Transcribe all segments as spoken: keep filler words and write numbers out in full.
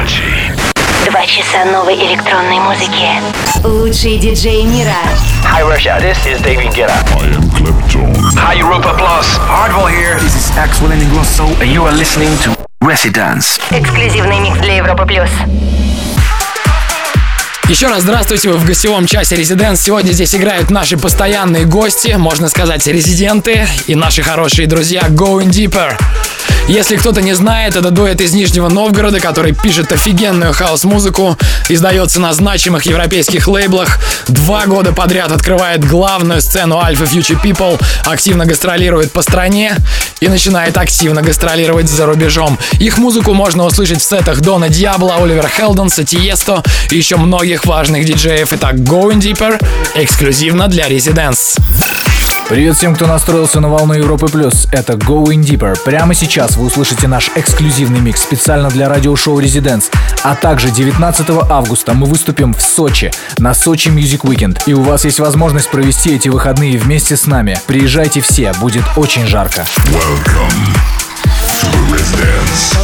Два часа новой электронной музыки. Лучшие диджеи мира. Hi Russia, this is David Guetta. I am Clapton. Hi Europa Plus. Hardwell here. This is Axel Ingrosso, and you are listening to Residence. Эксклюзивный микс для Европы плюс. Еще раз здравствуйте, вы в гостевом часе Residence. Сегодня здесь играют наши постоянные гости, можно сказать, резиденты и наши хорошие друзья Going Deeper. Если кто-то не знает, это дуэт из Нижнего Новгорода, который пишет офигенную хаус-музыку, издается на значимых европейских лейблах, два года подряд открывает главную сцену Alpha Future People, активно гастролирует по стране и начинает активно гастролировать за рубежом. Их музыку можно услышать в сетах Дона Диабло, Оливера Хелденса, Тиесто и еще многих важных диджеев. Итак, Going Deeper эксклюзивно для Residence. Привет всем, кто настроился на волну Европы Плюс. Это Going Deeper. Прямо сейчас вы услышите наш эксклюзивный микс специально для радиошоу Residence. А также девятнадцатого августа мы выступим в Сочи на Сочи Music Weekend. И у вас есть возможность провести эти выходные вместе с нами. Приезжайте все, будет очень жарко. Welcome to Residence.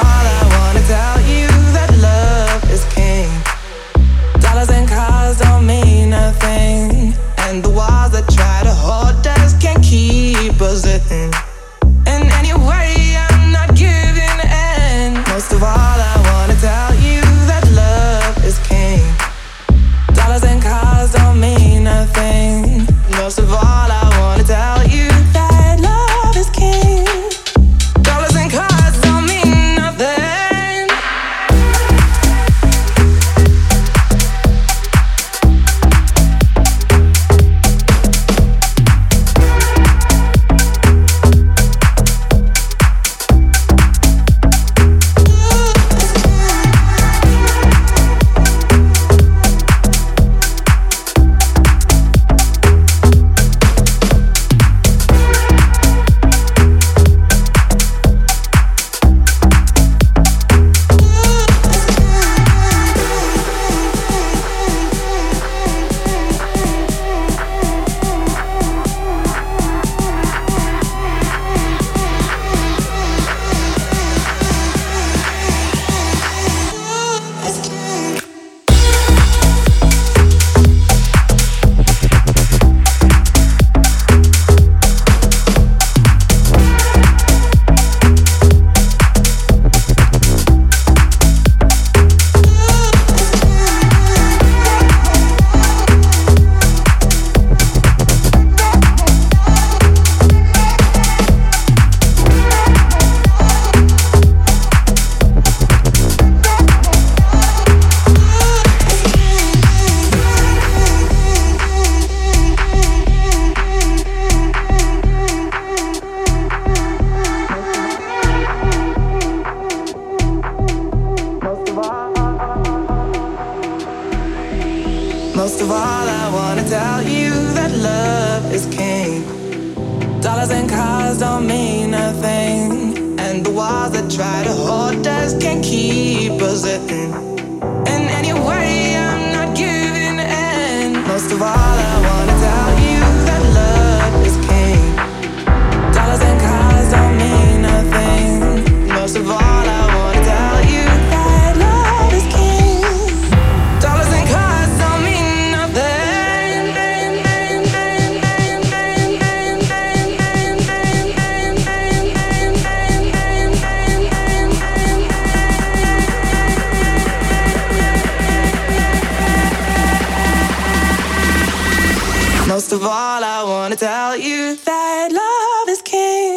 And the walls that try to hold us can't keep us in. And anyway, I'm not giving in. Most of all, I wanna tell you that love is king. Dollars and cars don't mean nothing. Most of all, I wanna tell you that love is king. Dollars and cars don't mean nothing. Most of all, I wanna tell you that love is king. Dollars and cars don't mean nothing. And the walls that try to hold us can't keep us in. And anyway, I'm not giving in. Most of all, I wanna tell you that love is king. Dollars and cars don't mean nothing. Most of all, I wanna tell you that love is king. Dollars and cars don't mean nothing. Most of all, I wanna tell you that love is king.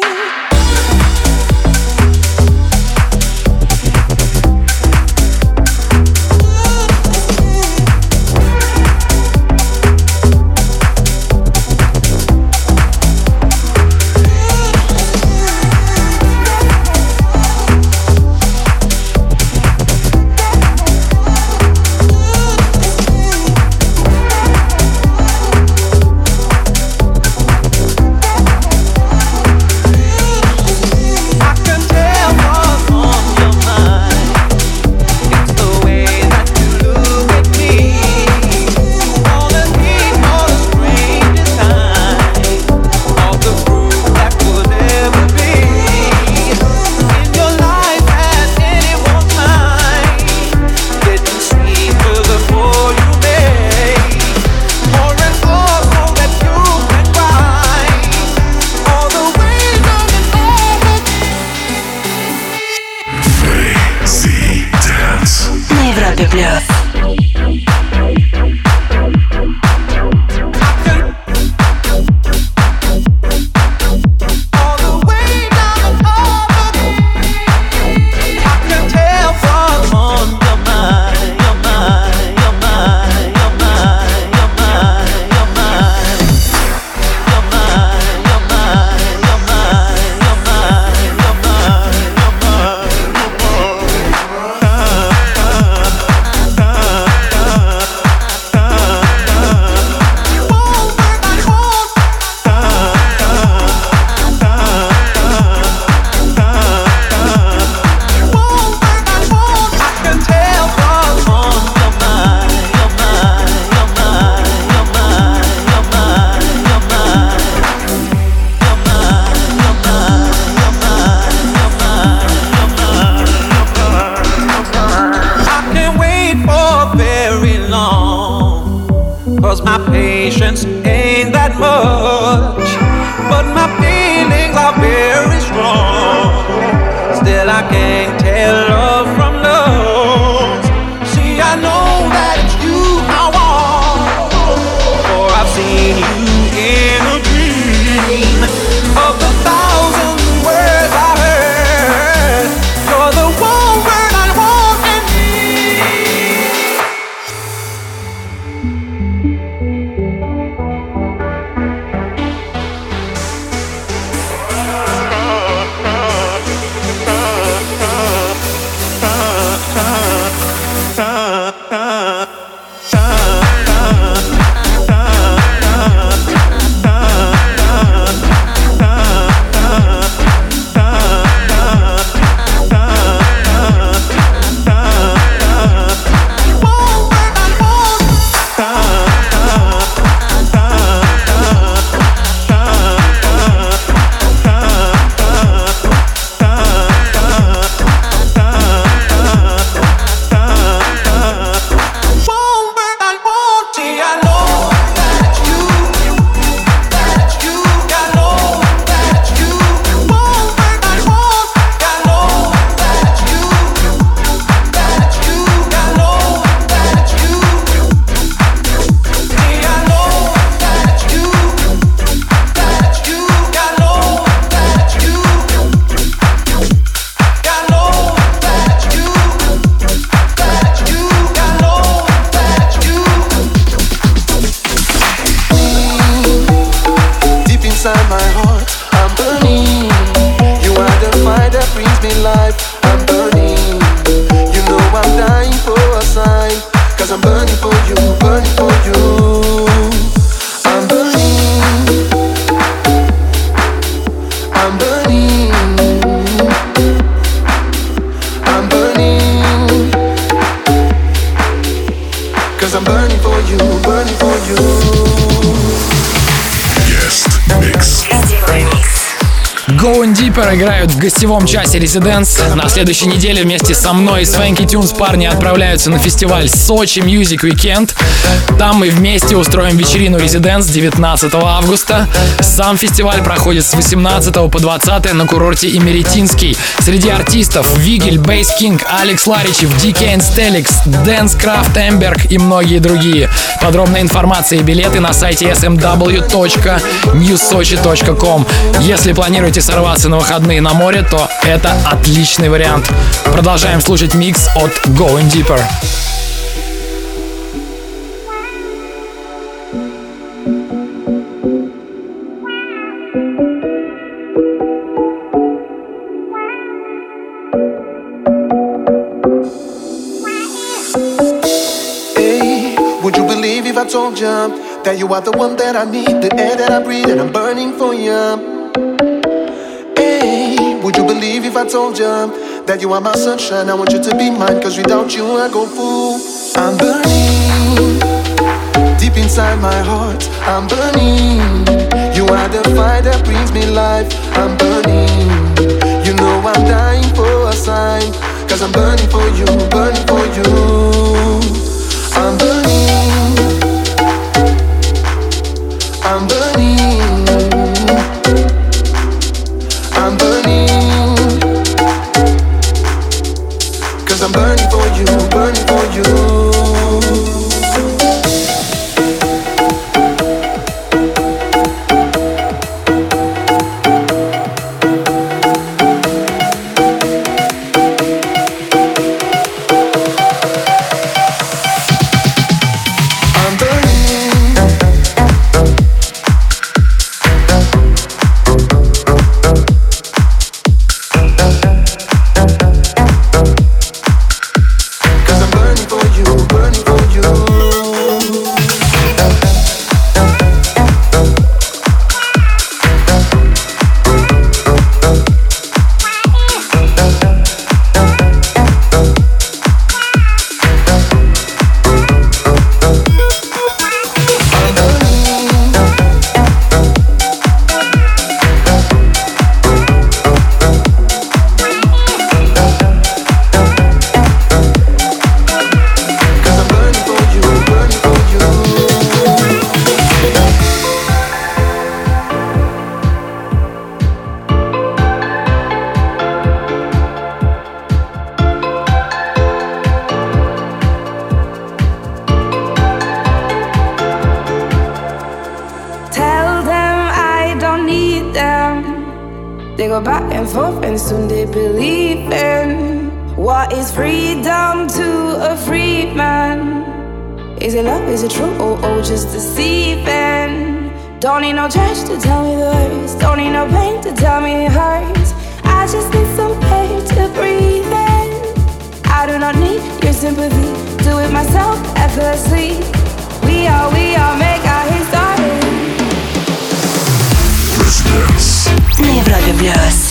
but I can't tell love from love. See, I know that it's you I want, for I've seen you in a dream. Of the thousand words I heard, you're the one word I want and need. Going Deeper играют в гостевом часе Residence. На следующей неделе вместе со мной и Swanky Tunes парни отправляются на фестиваль Сочи Music Weekend. Там мы вместе устроим вечерину Residence девятнадцатого августа. Сам фестиваль проходит с восемнадцатого по двадцатое на курорте Имеретинский. Среди артистов Вигель, Бейс Кинг, Алекс Ларичев, ди кей and Stelix, Dance Craft Эмберг и многие другие. Подробная информация и билеты на сайте эс эм дабл ю точка ньюс сочи точка ком. Если планируете сорваться на выходные на море, то это отличный вариант. Продолжаем слушать микс от Going Deeper. I told ya that you are the one that I need, the air that I breathe, and I'm burning for ya. Hey, would you believe if I told ya that you are my sunshine? I want you to be mine, cause without you I go fool. I'm burning deep inside my heart. I'm burning. You are the fire that brings me life. I'm burning. You know I'm dying for a sign, cause I'm burning for you, burning for you. I'm burning. I'm burning, I'm burning, cause I'm burning for you, burning for you. They go back and forth and soon they believe in what is freedom to a free man. Is it love, is it true, or oh, just deceiving? Don't need no judge to tell me the words, don't need no pain to tell me it hurts. I just need some pain to breathe in. I do not need your sympathy, do it myself effortlessly. We are, we are, make our history. Residence. На Европе Плюс.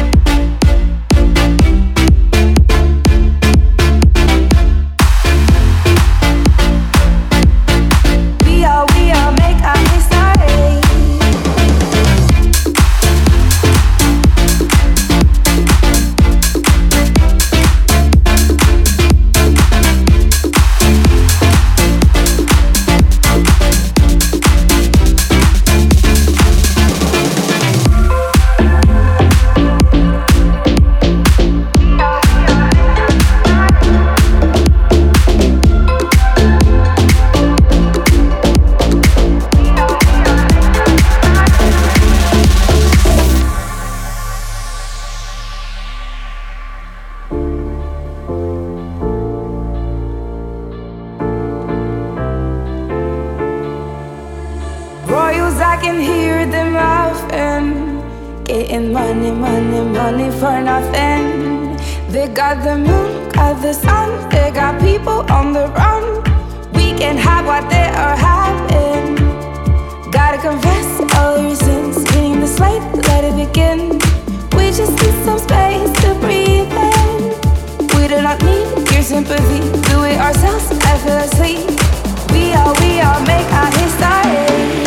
Got the moon, got the sun, they got people on the run. We can have what they are having. Gotta confess all your sins, cleaning the slate, let it begin. We just need some space to breathe in. We do not need your sympathy, do it ourselves effortlessly. We are, we are, make our history.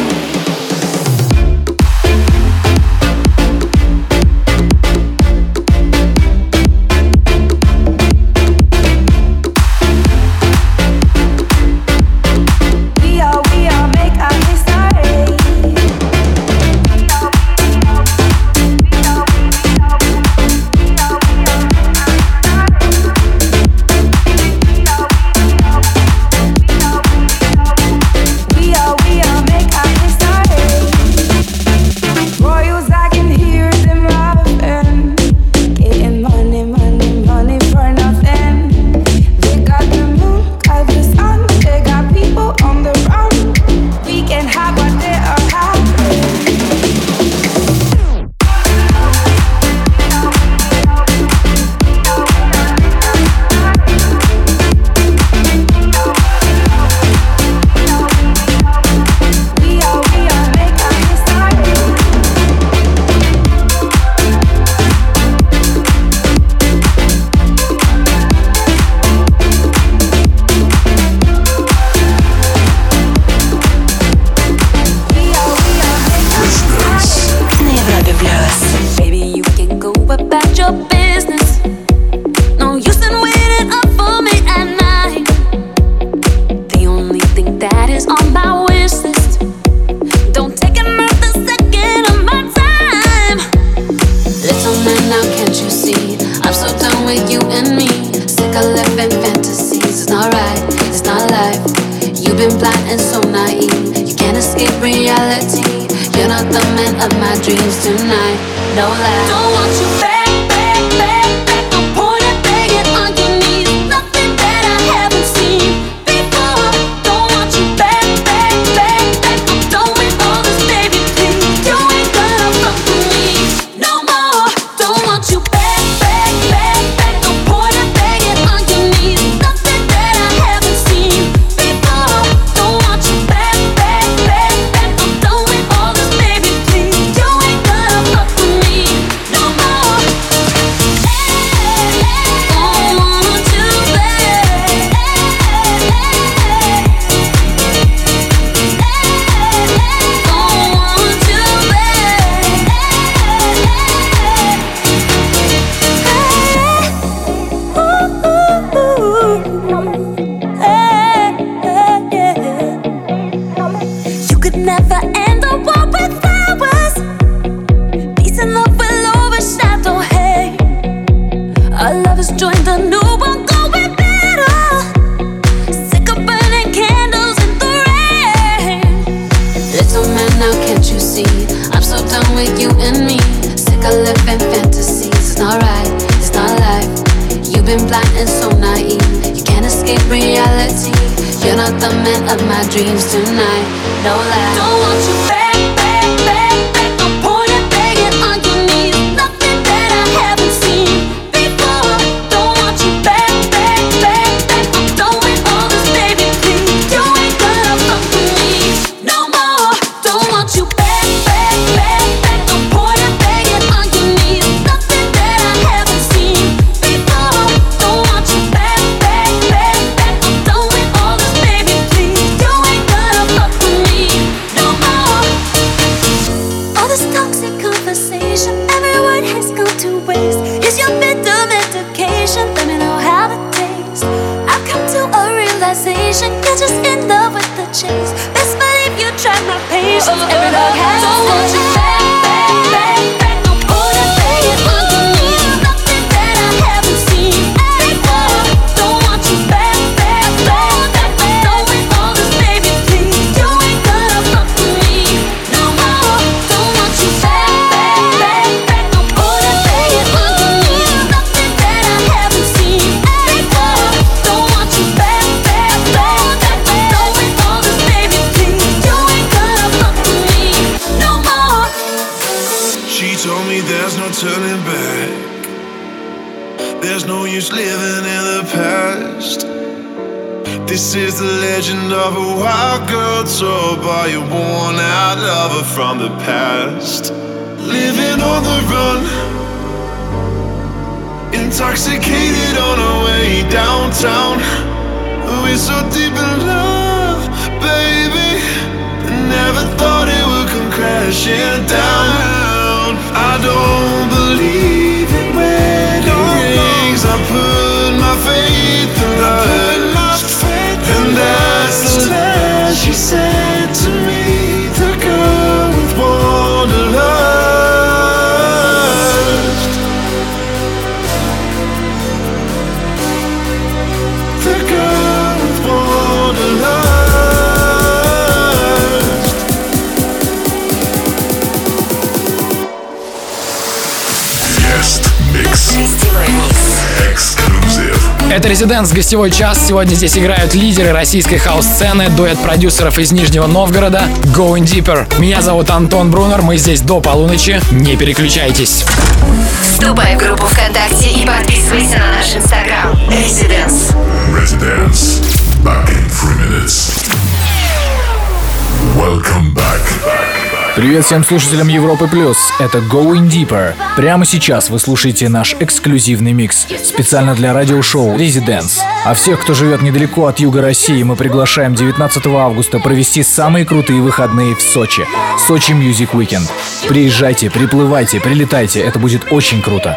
Little man, now can't you see? I'm so done with you and me. Sick like I live in fantasies. It's not right, it's not life. You've been blind and so naive. You can't escape reality. You're not the man of my dreams tonight. No lie. Don't want you back, back, back, back. I'm pointing, begging on your knees. Nothing that I haven't seen before. Don't want you back, back, back, back. I'm done with all this, baby, please. You ain't gonna fuck with me no more. Don't want you back, back, back, back. I'm pointing, begging on your knees. Nothing that I haven't seen before. Don't want you back, back, back, back. I'm done with all this, baby, please. You ain't gonna fuck with me no more. All this toxic conversation, every word has gone to waste. Is your bitter medication? Let me know how it tastes. I've come to a realization, you're just in love with the chase. Best believe you tried my patience. Every love has don't want you back, back, back, back. I'm putting begging on your knees. Nothing that I haven't seen before. Don't want you back, back, back, back. I'm done with all this, baby, please. You ain't gonna fuck with me no more. Don't want you back, back, back, back. I'm putting begging on your knees. Nothing that I haven't seen before. Don't want you back, back, back, back. I'm done with all this, baby, please. You ain't gonna fuck with me no more. She told me there's no turning back. There's no use living in the past. This is the legend of a wild girl told by a worn out lover from the past. Living on the run, intoxicated on our way downtown. We're so deep in love, baby. Never thought it would come crashing down. I don't believe in wedding rings. I put my faith in love, and that's the last she said to me. The girl with wanderlust, the girl with wanderlust. Guest mix. Exclusive. Это Residence, гостевой час. Сегодня здесь играют лидеры российской хаус-сцены, дуэт продюсеров из Нижнего Новгорода Going Deeper. Меня зовут Антон Брунер, мы здесь до полуночи. Не переключайтесь. Вступай в группу ВКонтакте и подписывайся на наш инстаграм. Residence. Residence. Back in three minutes. Welcome back. Привет всем слушателям Европы Плюс, это Going Deeper. Прямо сейчас вы слушаете наш эксклюзивный микс, специально для радиошоу Residence. А всех, кто живет недалеко от юга России, мы приглашаем девятнадцатого августа провести самые крутые выходные в Сочи. Сочи Music Weekend. Приезжайте, приплывайте, прилетайте, это будет очень круто.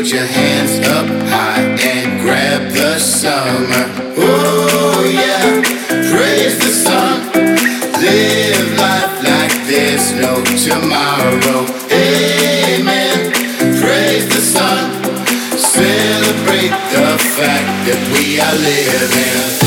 your hands up high and grab the summer. Oh yeah, praise the sun. Live life like there's no tomorrow. Amen. Praise the sun. Celebrate the fact that we are living.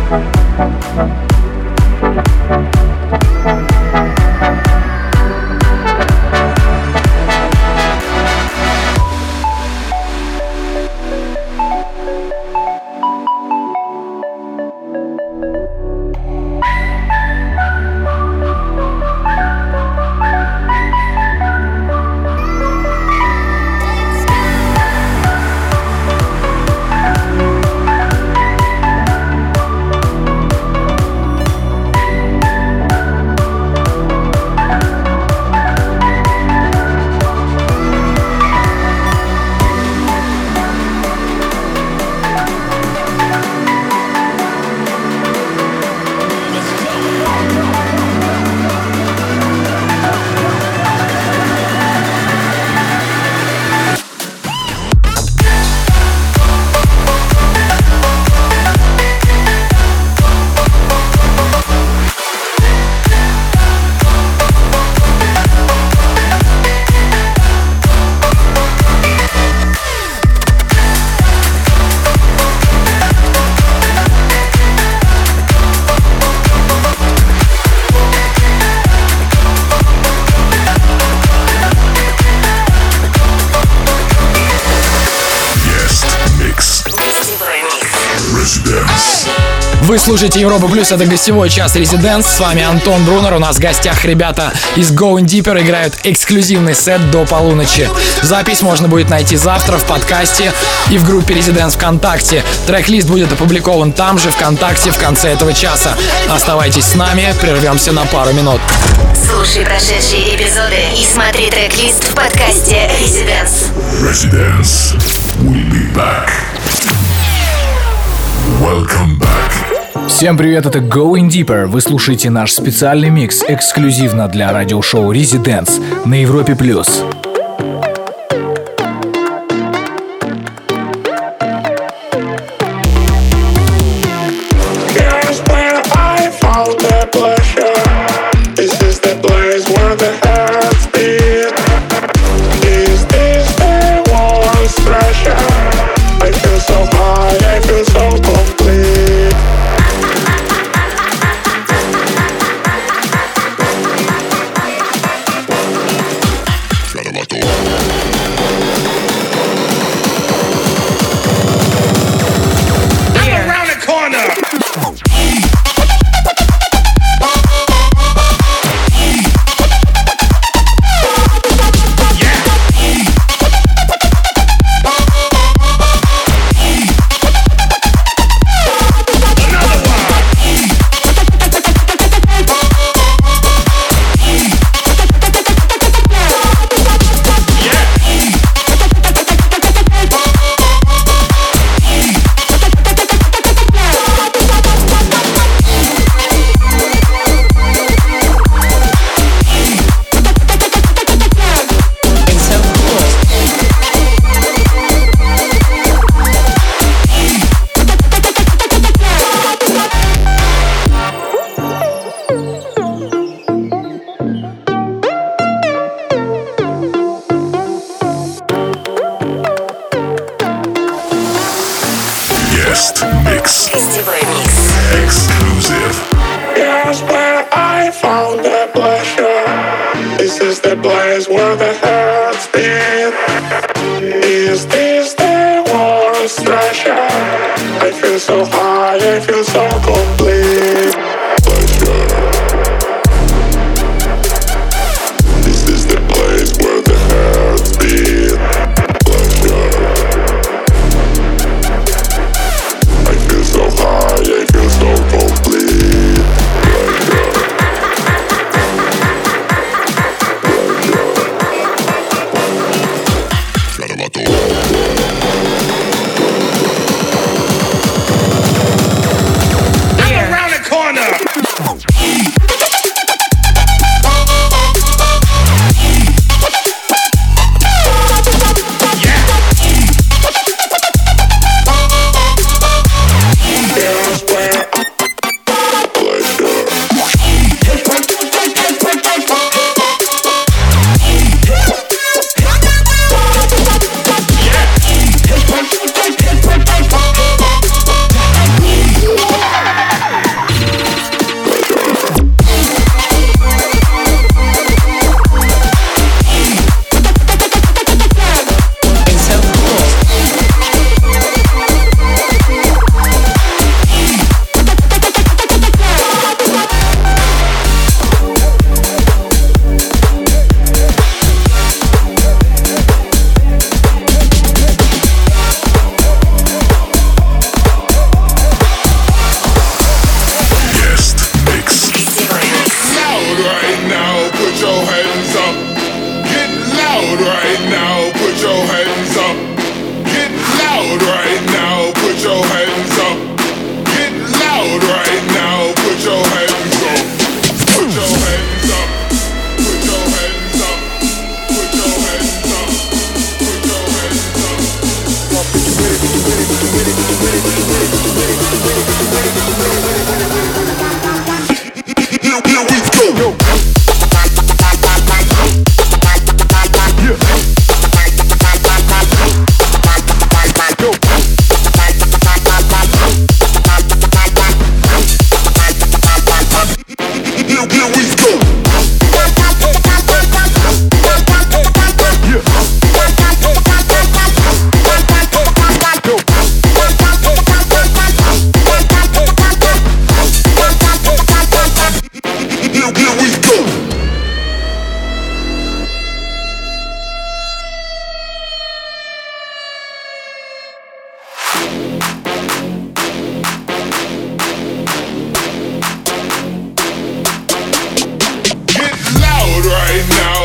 Вы слушаете Европа Плюс, это гостевой час Residence. С вами Антон Брунер. У нас в гостях ребята из Going Deeper играют эксклюзивный сет до полуночи. Запись можно будет найти завтра в подкасте и в группе Residence ВКонтакте. Трек-лист будет опубликован там же, ВКонтакте, в конце этого часа. Оставайтесь с нами, прервемся на пару минут. Слушай прошедшие эпизоды и смотри трек-лист в подкасте Residence. Residence. We'll be back. Welcome back. Всем привет, это Going Deeper. Вы слушаете наш специальный микс эксклюзивно для радиошоу Residence на Европе Плюс. Corner.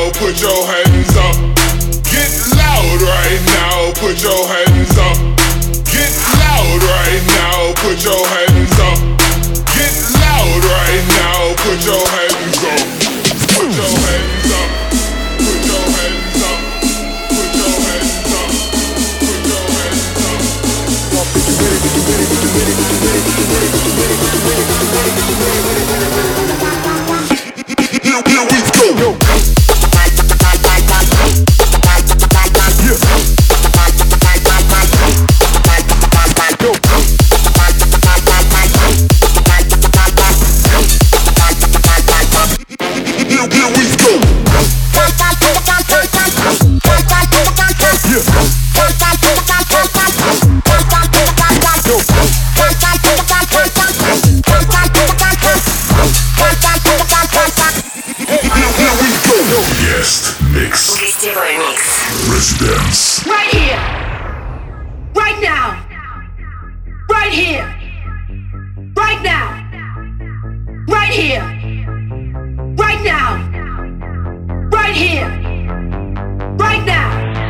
now, put your hands up. Get loud right now, put your hands up. Get loud right now, put your hands up. Get loud right now, put your hands up. Put your hands up. Put your hands up. Put your hands up. Put your hands up. Here, here we go. Гостевой микс. Residence. Right here. Right now. Right here. Right now. Right here. Right now. Right here. Right now.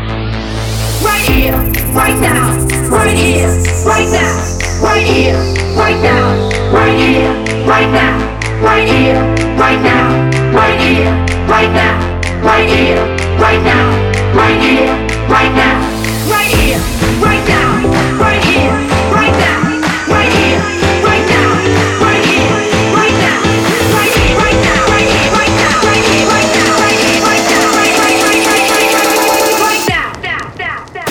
Right here. Right now. Right here. Right now. Right here. Right now. Right here. Right now. Right here. Right now. Right here. Right now. Right here. Right now, right here, right now, right here, right now, right here, right now, right here, right now, right here, right now, right here, right now, right here, right now, right here, right now, right here, right now, right, right, right, right, right, right now, now, now, now.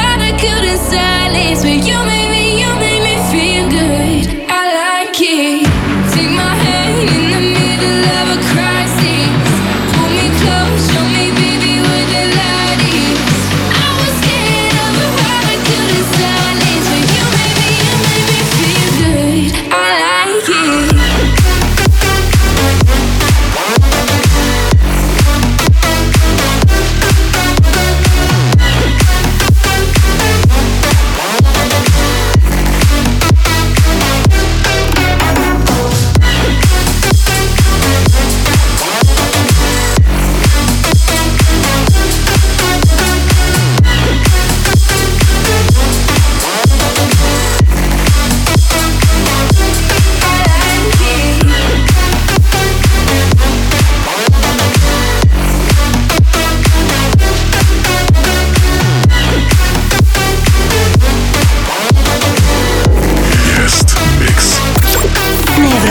But you made me, you made me feel good. I like it.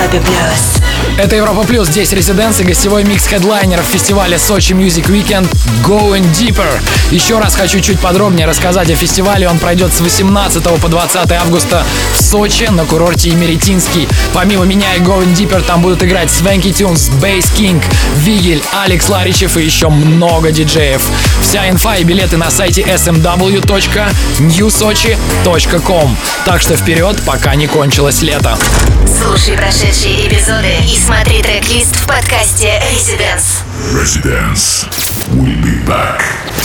Европе плюс. Это Европа Плюс, здесь Резиденс и гостевой микс хедлайнеров фестиваля Сочи Music Weekend Going Deeper. Еще раз хочу чуть подробнее рассказать о фестивале. Он пройдет с восемнадцатого по двадцатое августа в Сочи на курорте Имеретинский. Помимо меня и Going Deeper там будут играть Swanky Tunes, Bass King, Вигель, Алекс Ларичев и еще много диджеев. Вся инфа и билеты на сайте эс эм дабл ю точка нью сочи точка ком. Так что вперед, пока не кончилось лето. Слушай прошедшие эпизоды и смотри трек-лист в подкасте Residence. Residence. We'll be back.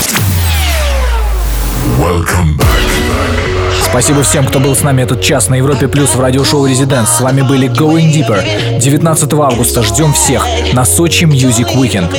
Welcome back. Спасибо всем, кто был с нами этот час на Европе Плюс в радиошоу Residence. С вами были Going Deeper. девятнадцатого августа ждем всех на Сочи Music Weekend.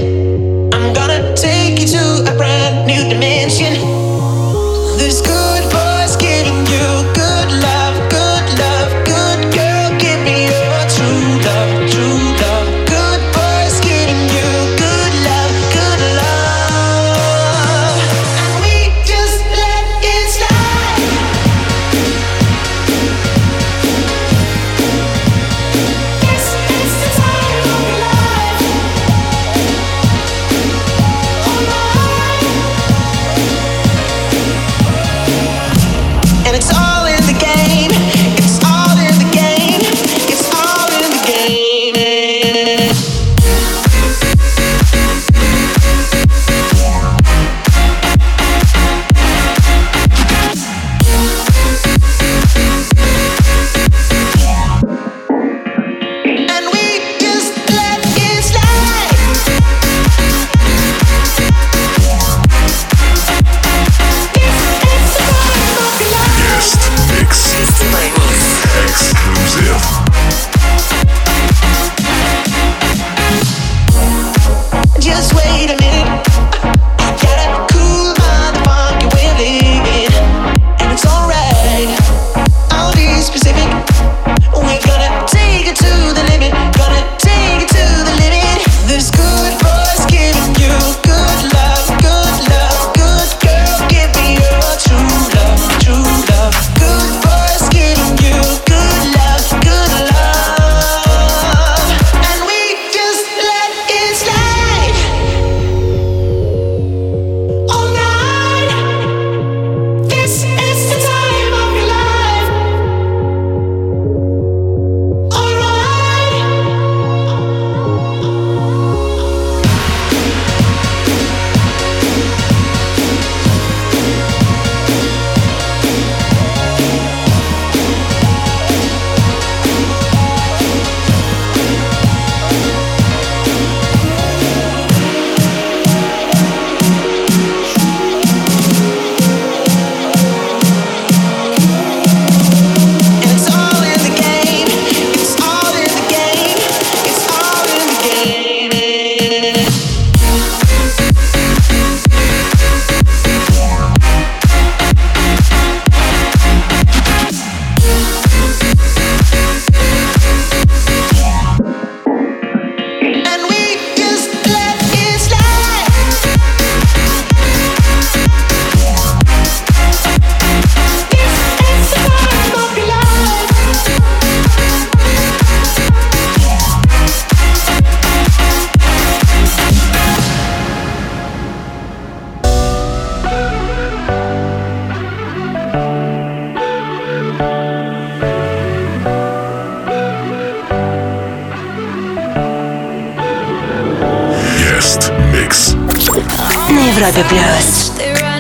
Европе плюс.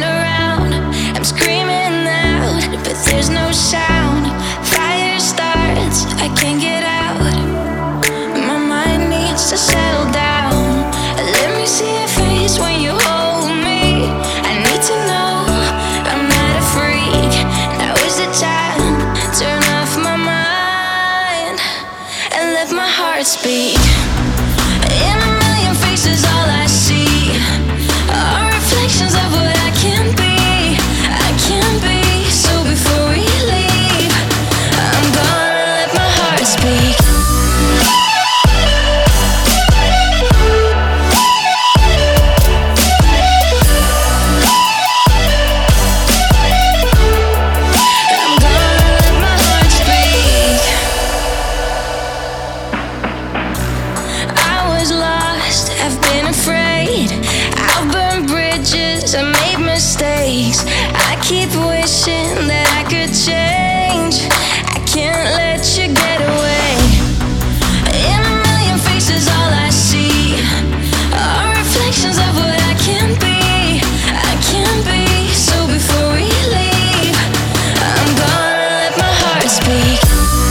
Speak in a million faces, all I see are reflections of what I can be. I can be. So before we leave, I'm gonna let my heart speak. I'm gonna let my heart speak. mistakes. I keep wishing that I could change. I can't let you get away. In a million faces, all I see are reflections of what I can be. I can be. So before we leave, I'm gonna let my heart speak.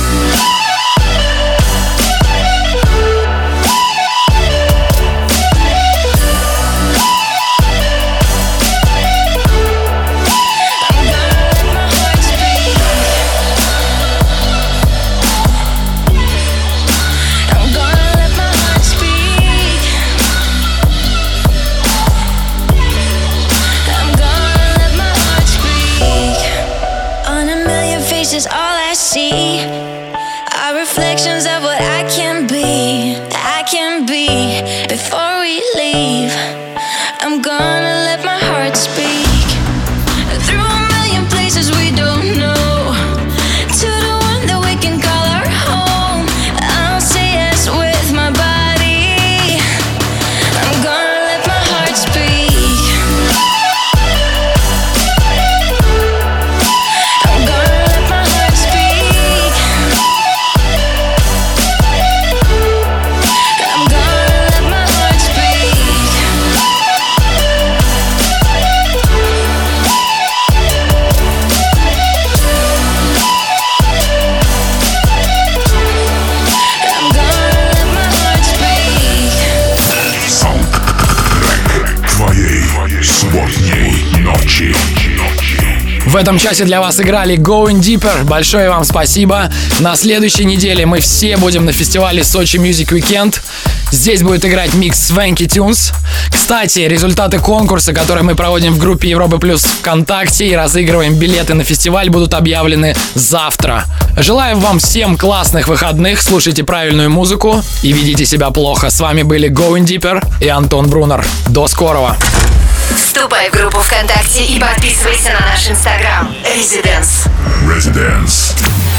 All I see are reflections of what I can be. I can be. Before we leave, I'm gonna let my heart speak. Through a million places we don't know, to the one that we can call our home. I'll say yes with my body. I'm gonna let my heart speak. В этом часе для вас играли Going Deeper. Большое вам спасибо. На следующей неделе мы все будем на фестивале Sochi Music Weekend. Здесь будет играть микс Swanky Tunes. Кстати, результаты конкурса, который мы проводим в группе Европы Плюс ВКонтакте и разыгрываем билеты на фестиваль, будут объявлены завтра. Желаю вам всем классных выходных, слушайте правильную музыку и ведите себя плохо. С вами были Going Deeper и Антон Брунер. До скорого. Вступай в группу ВКонтакте и подписывайся на наш инстаграм. Residence. Residence.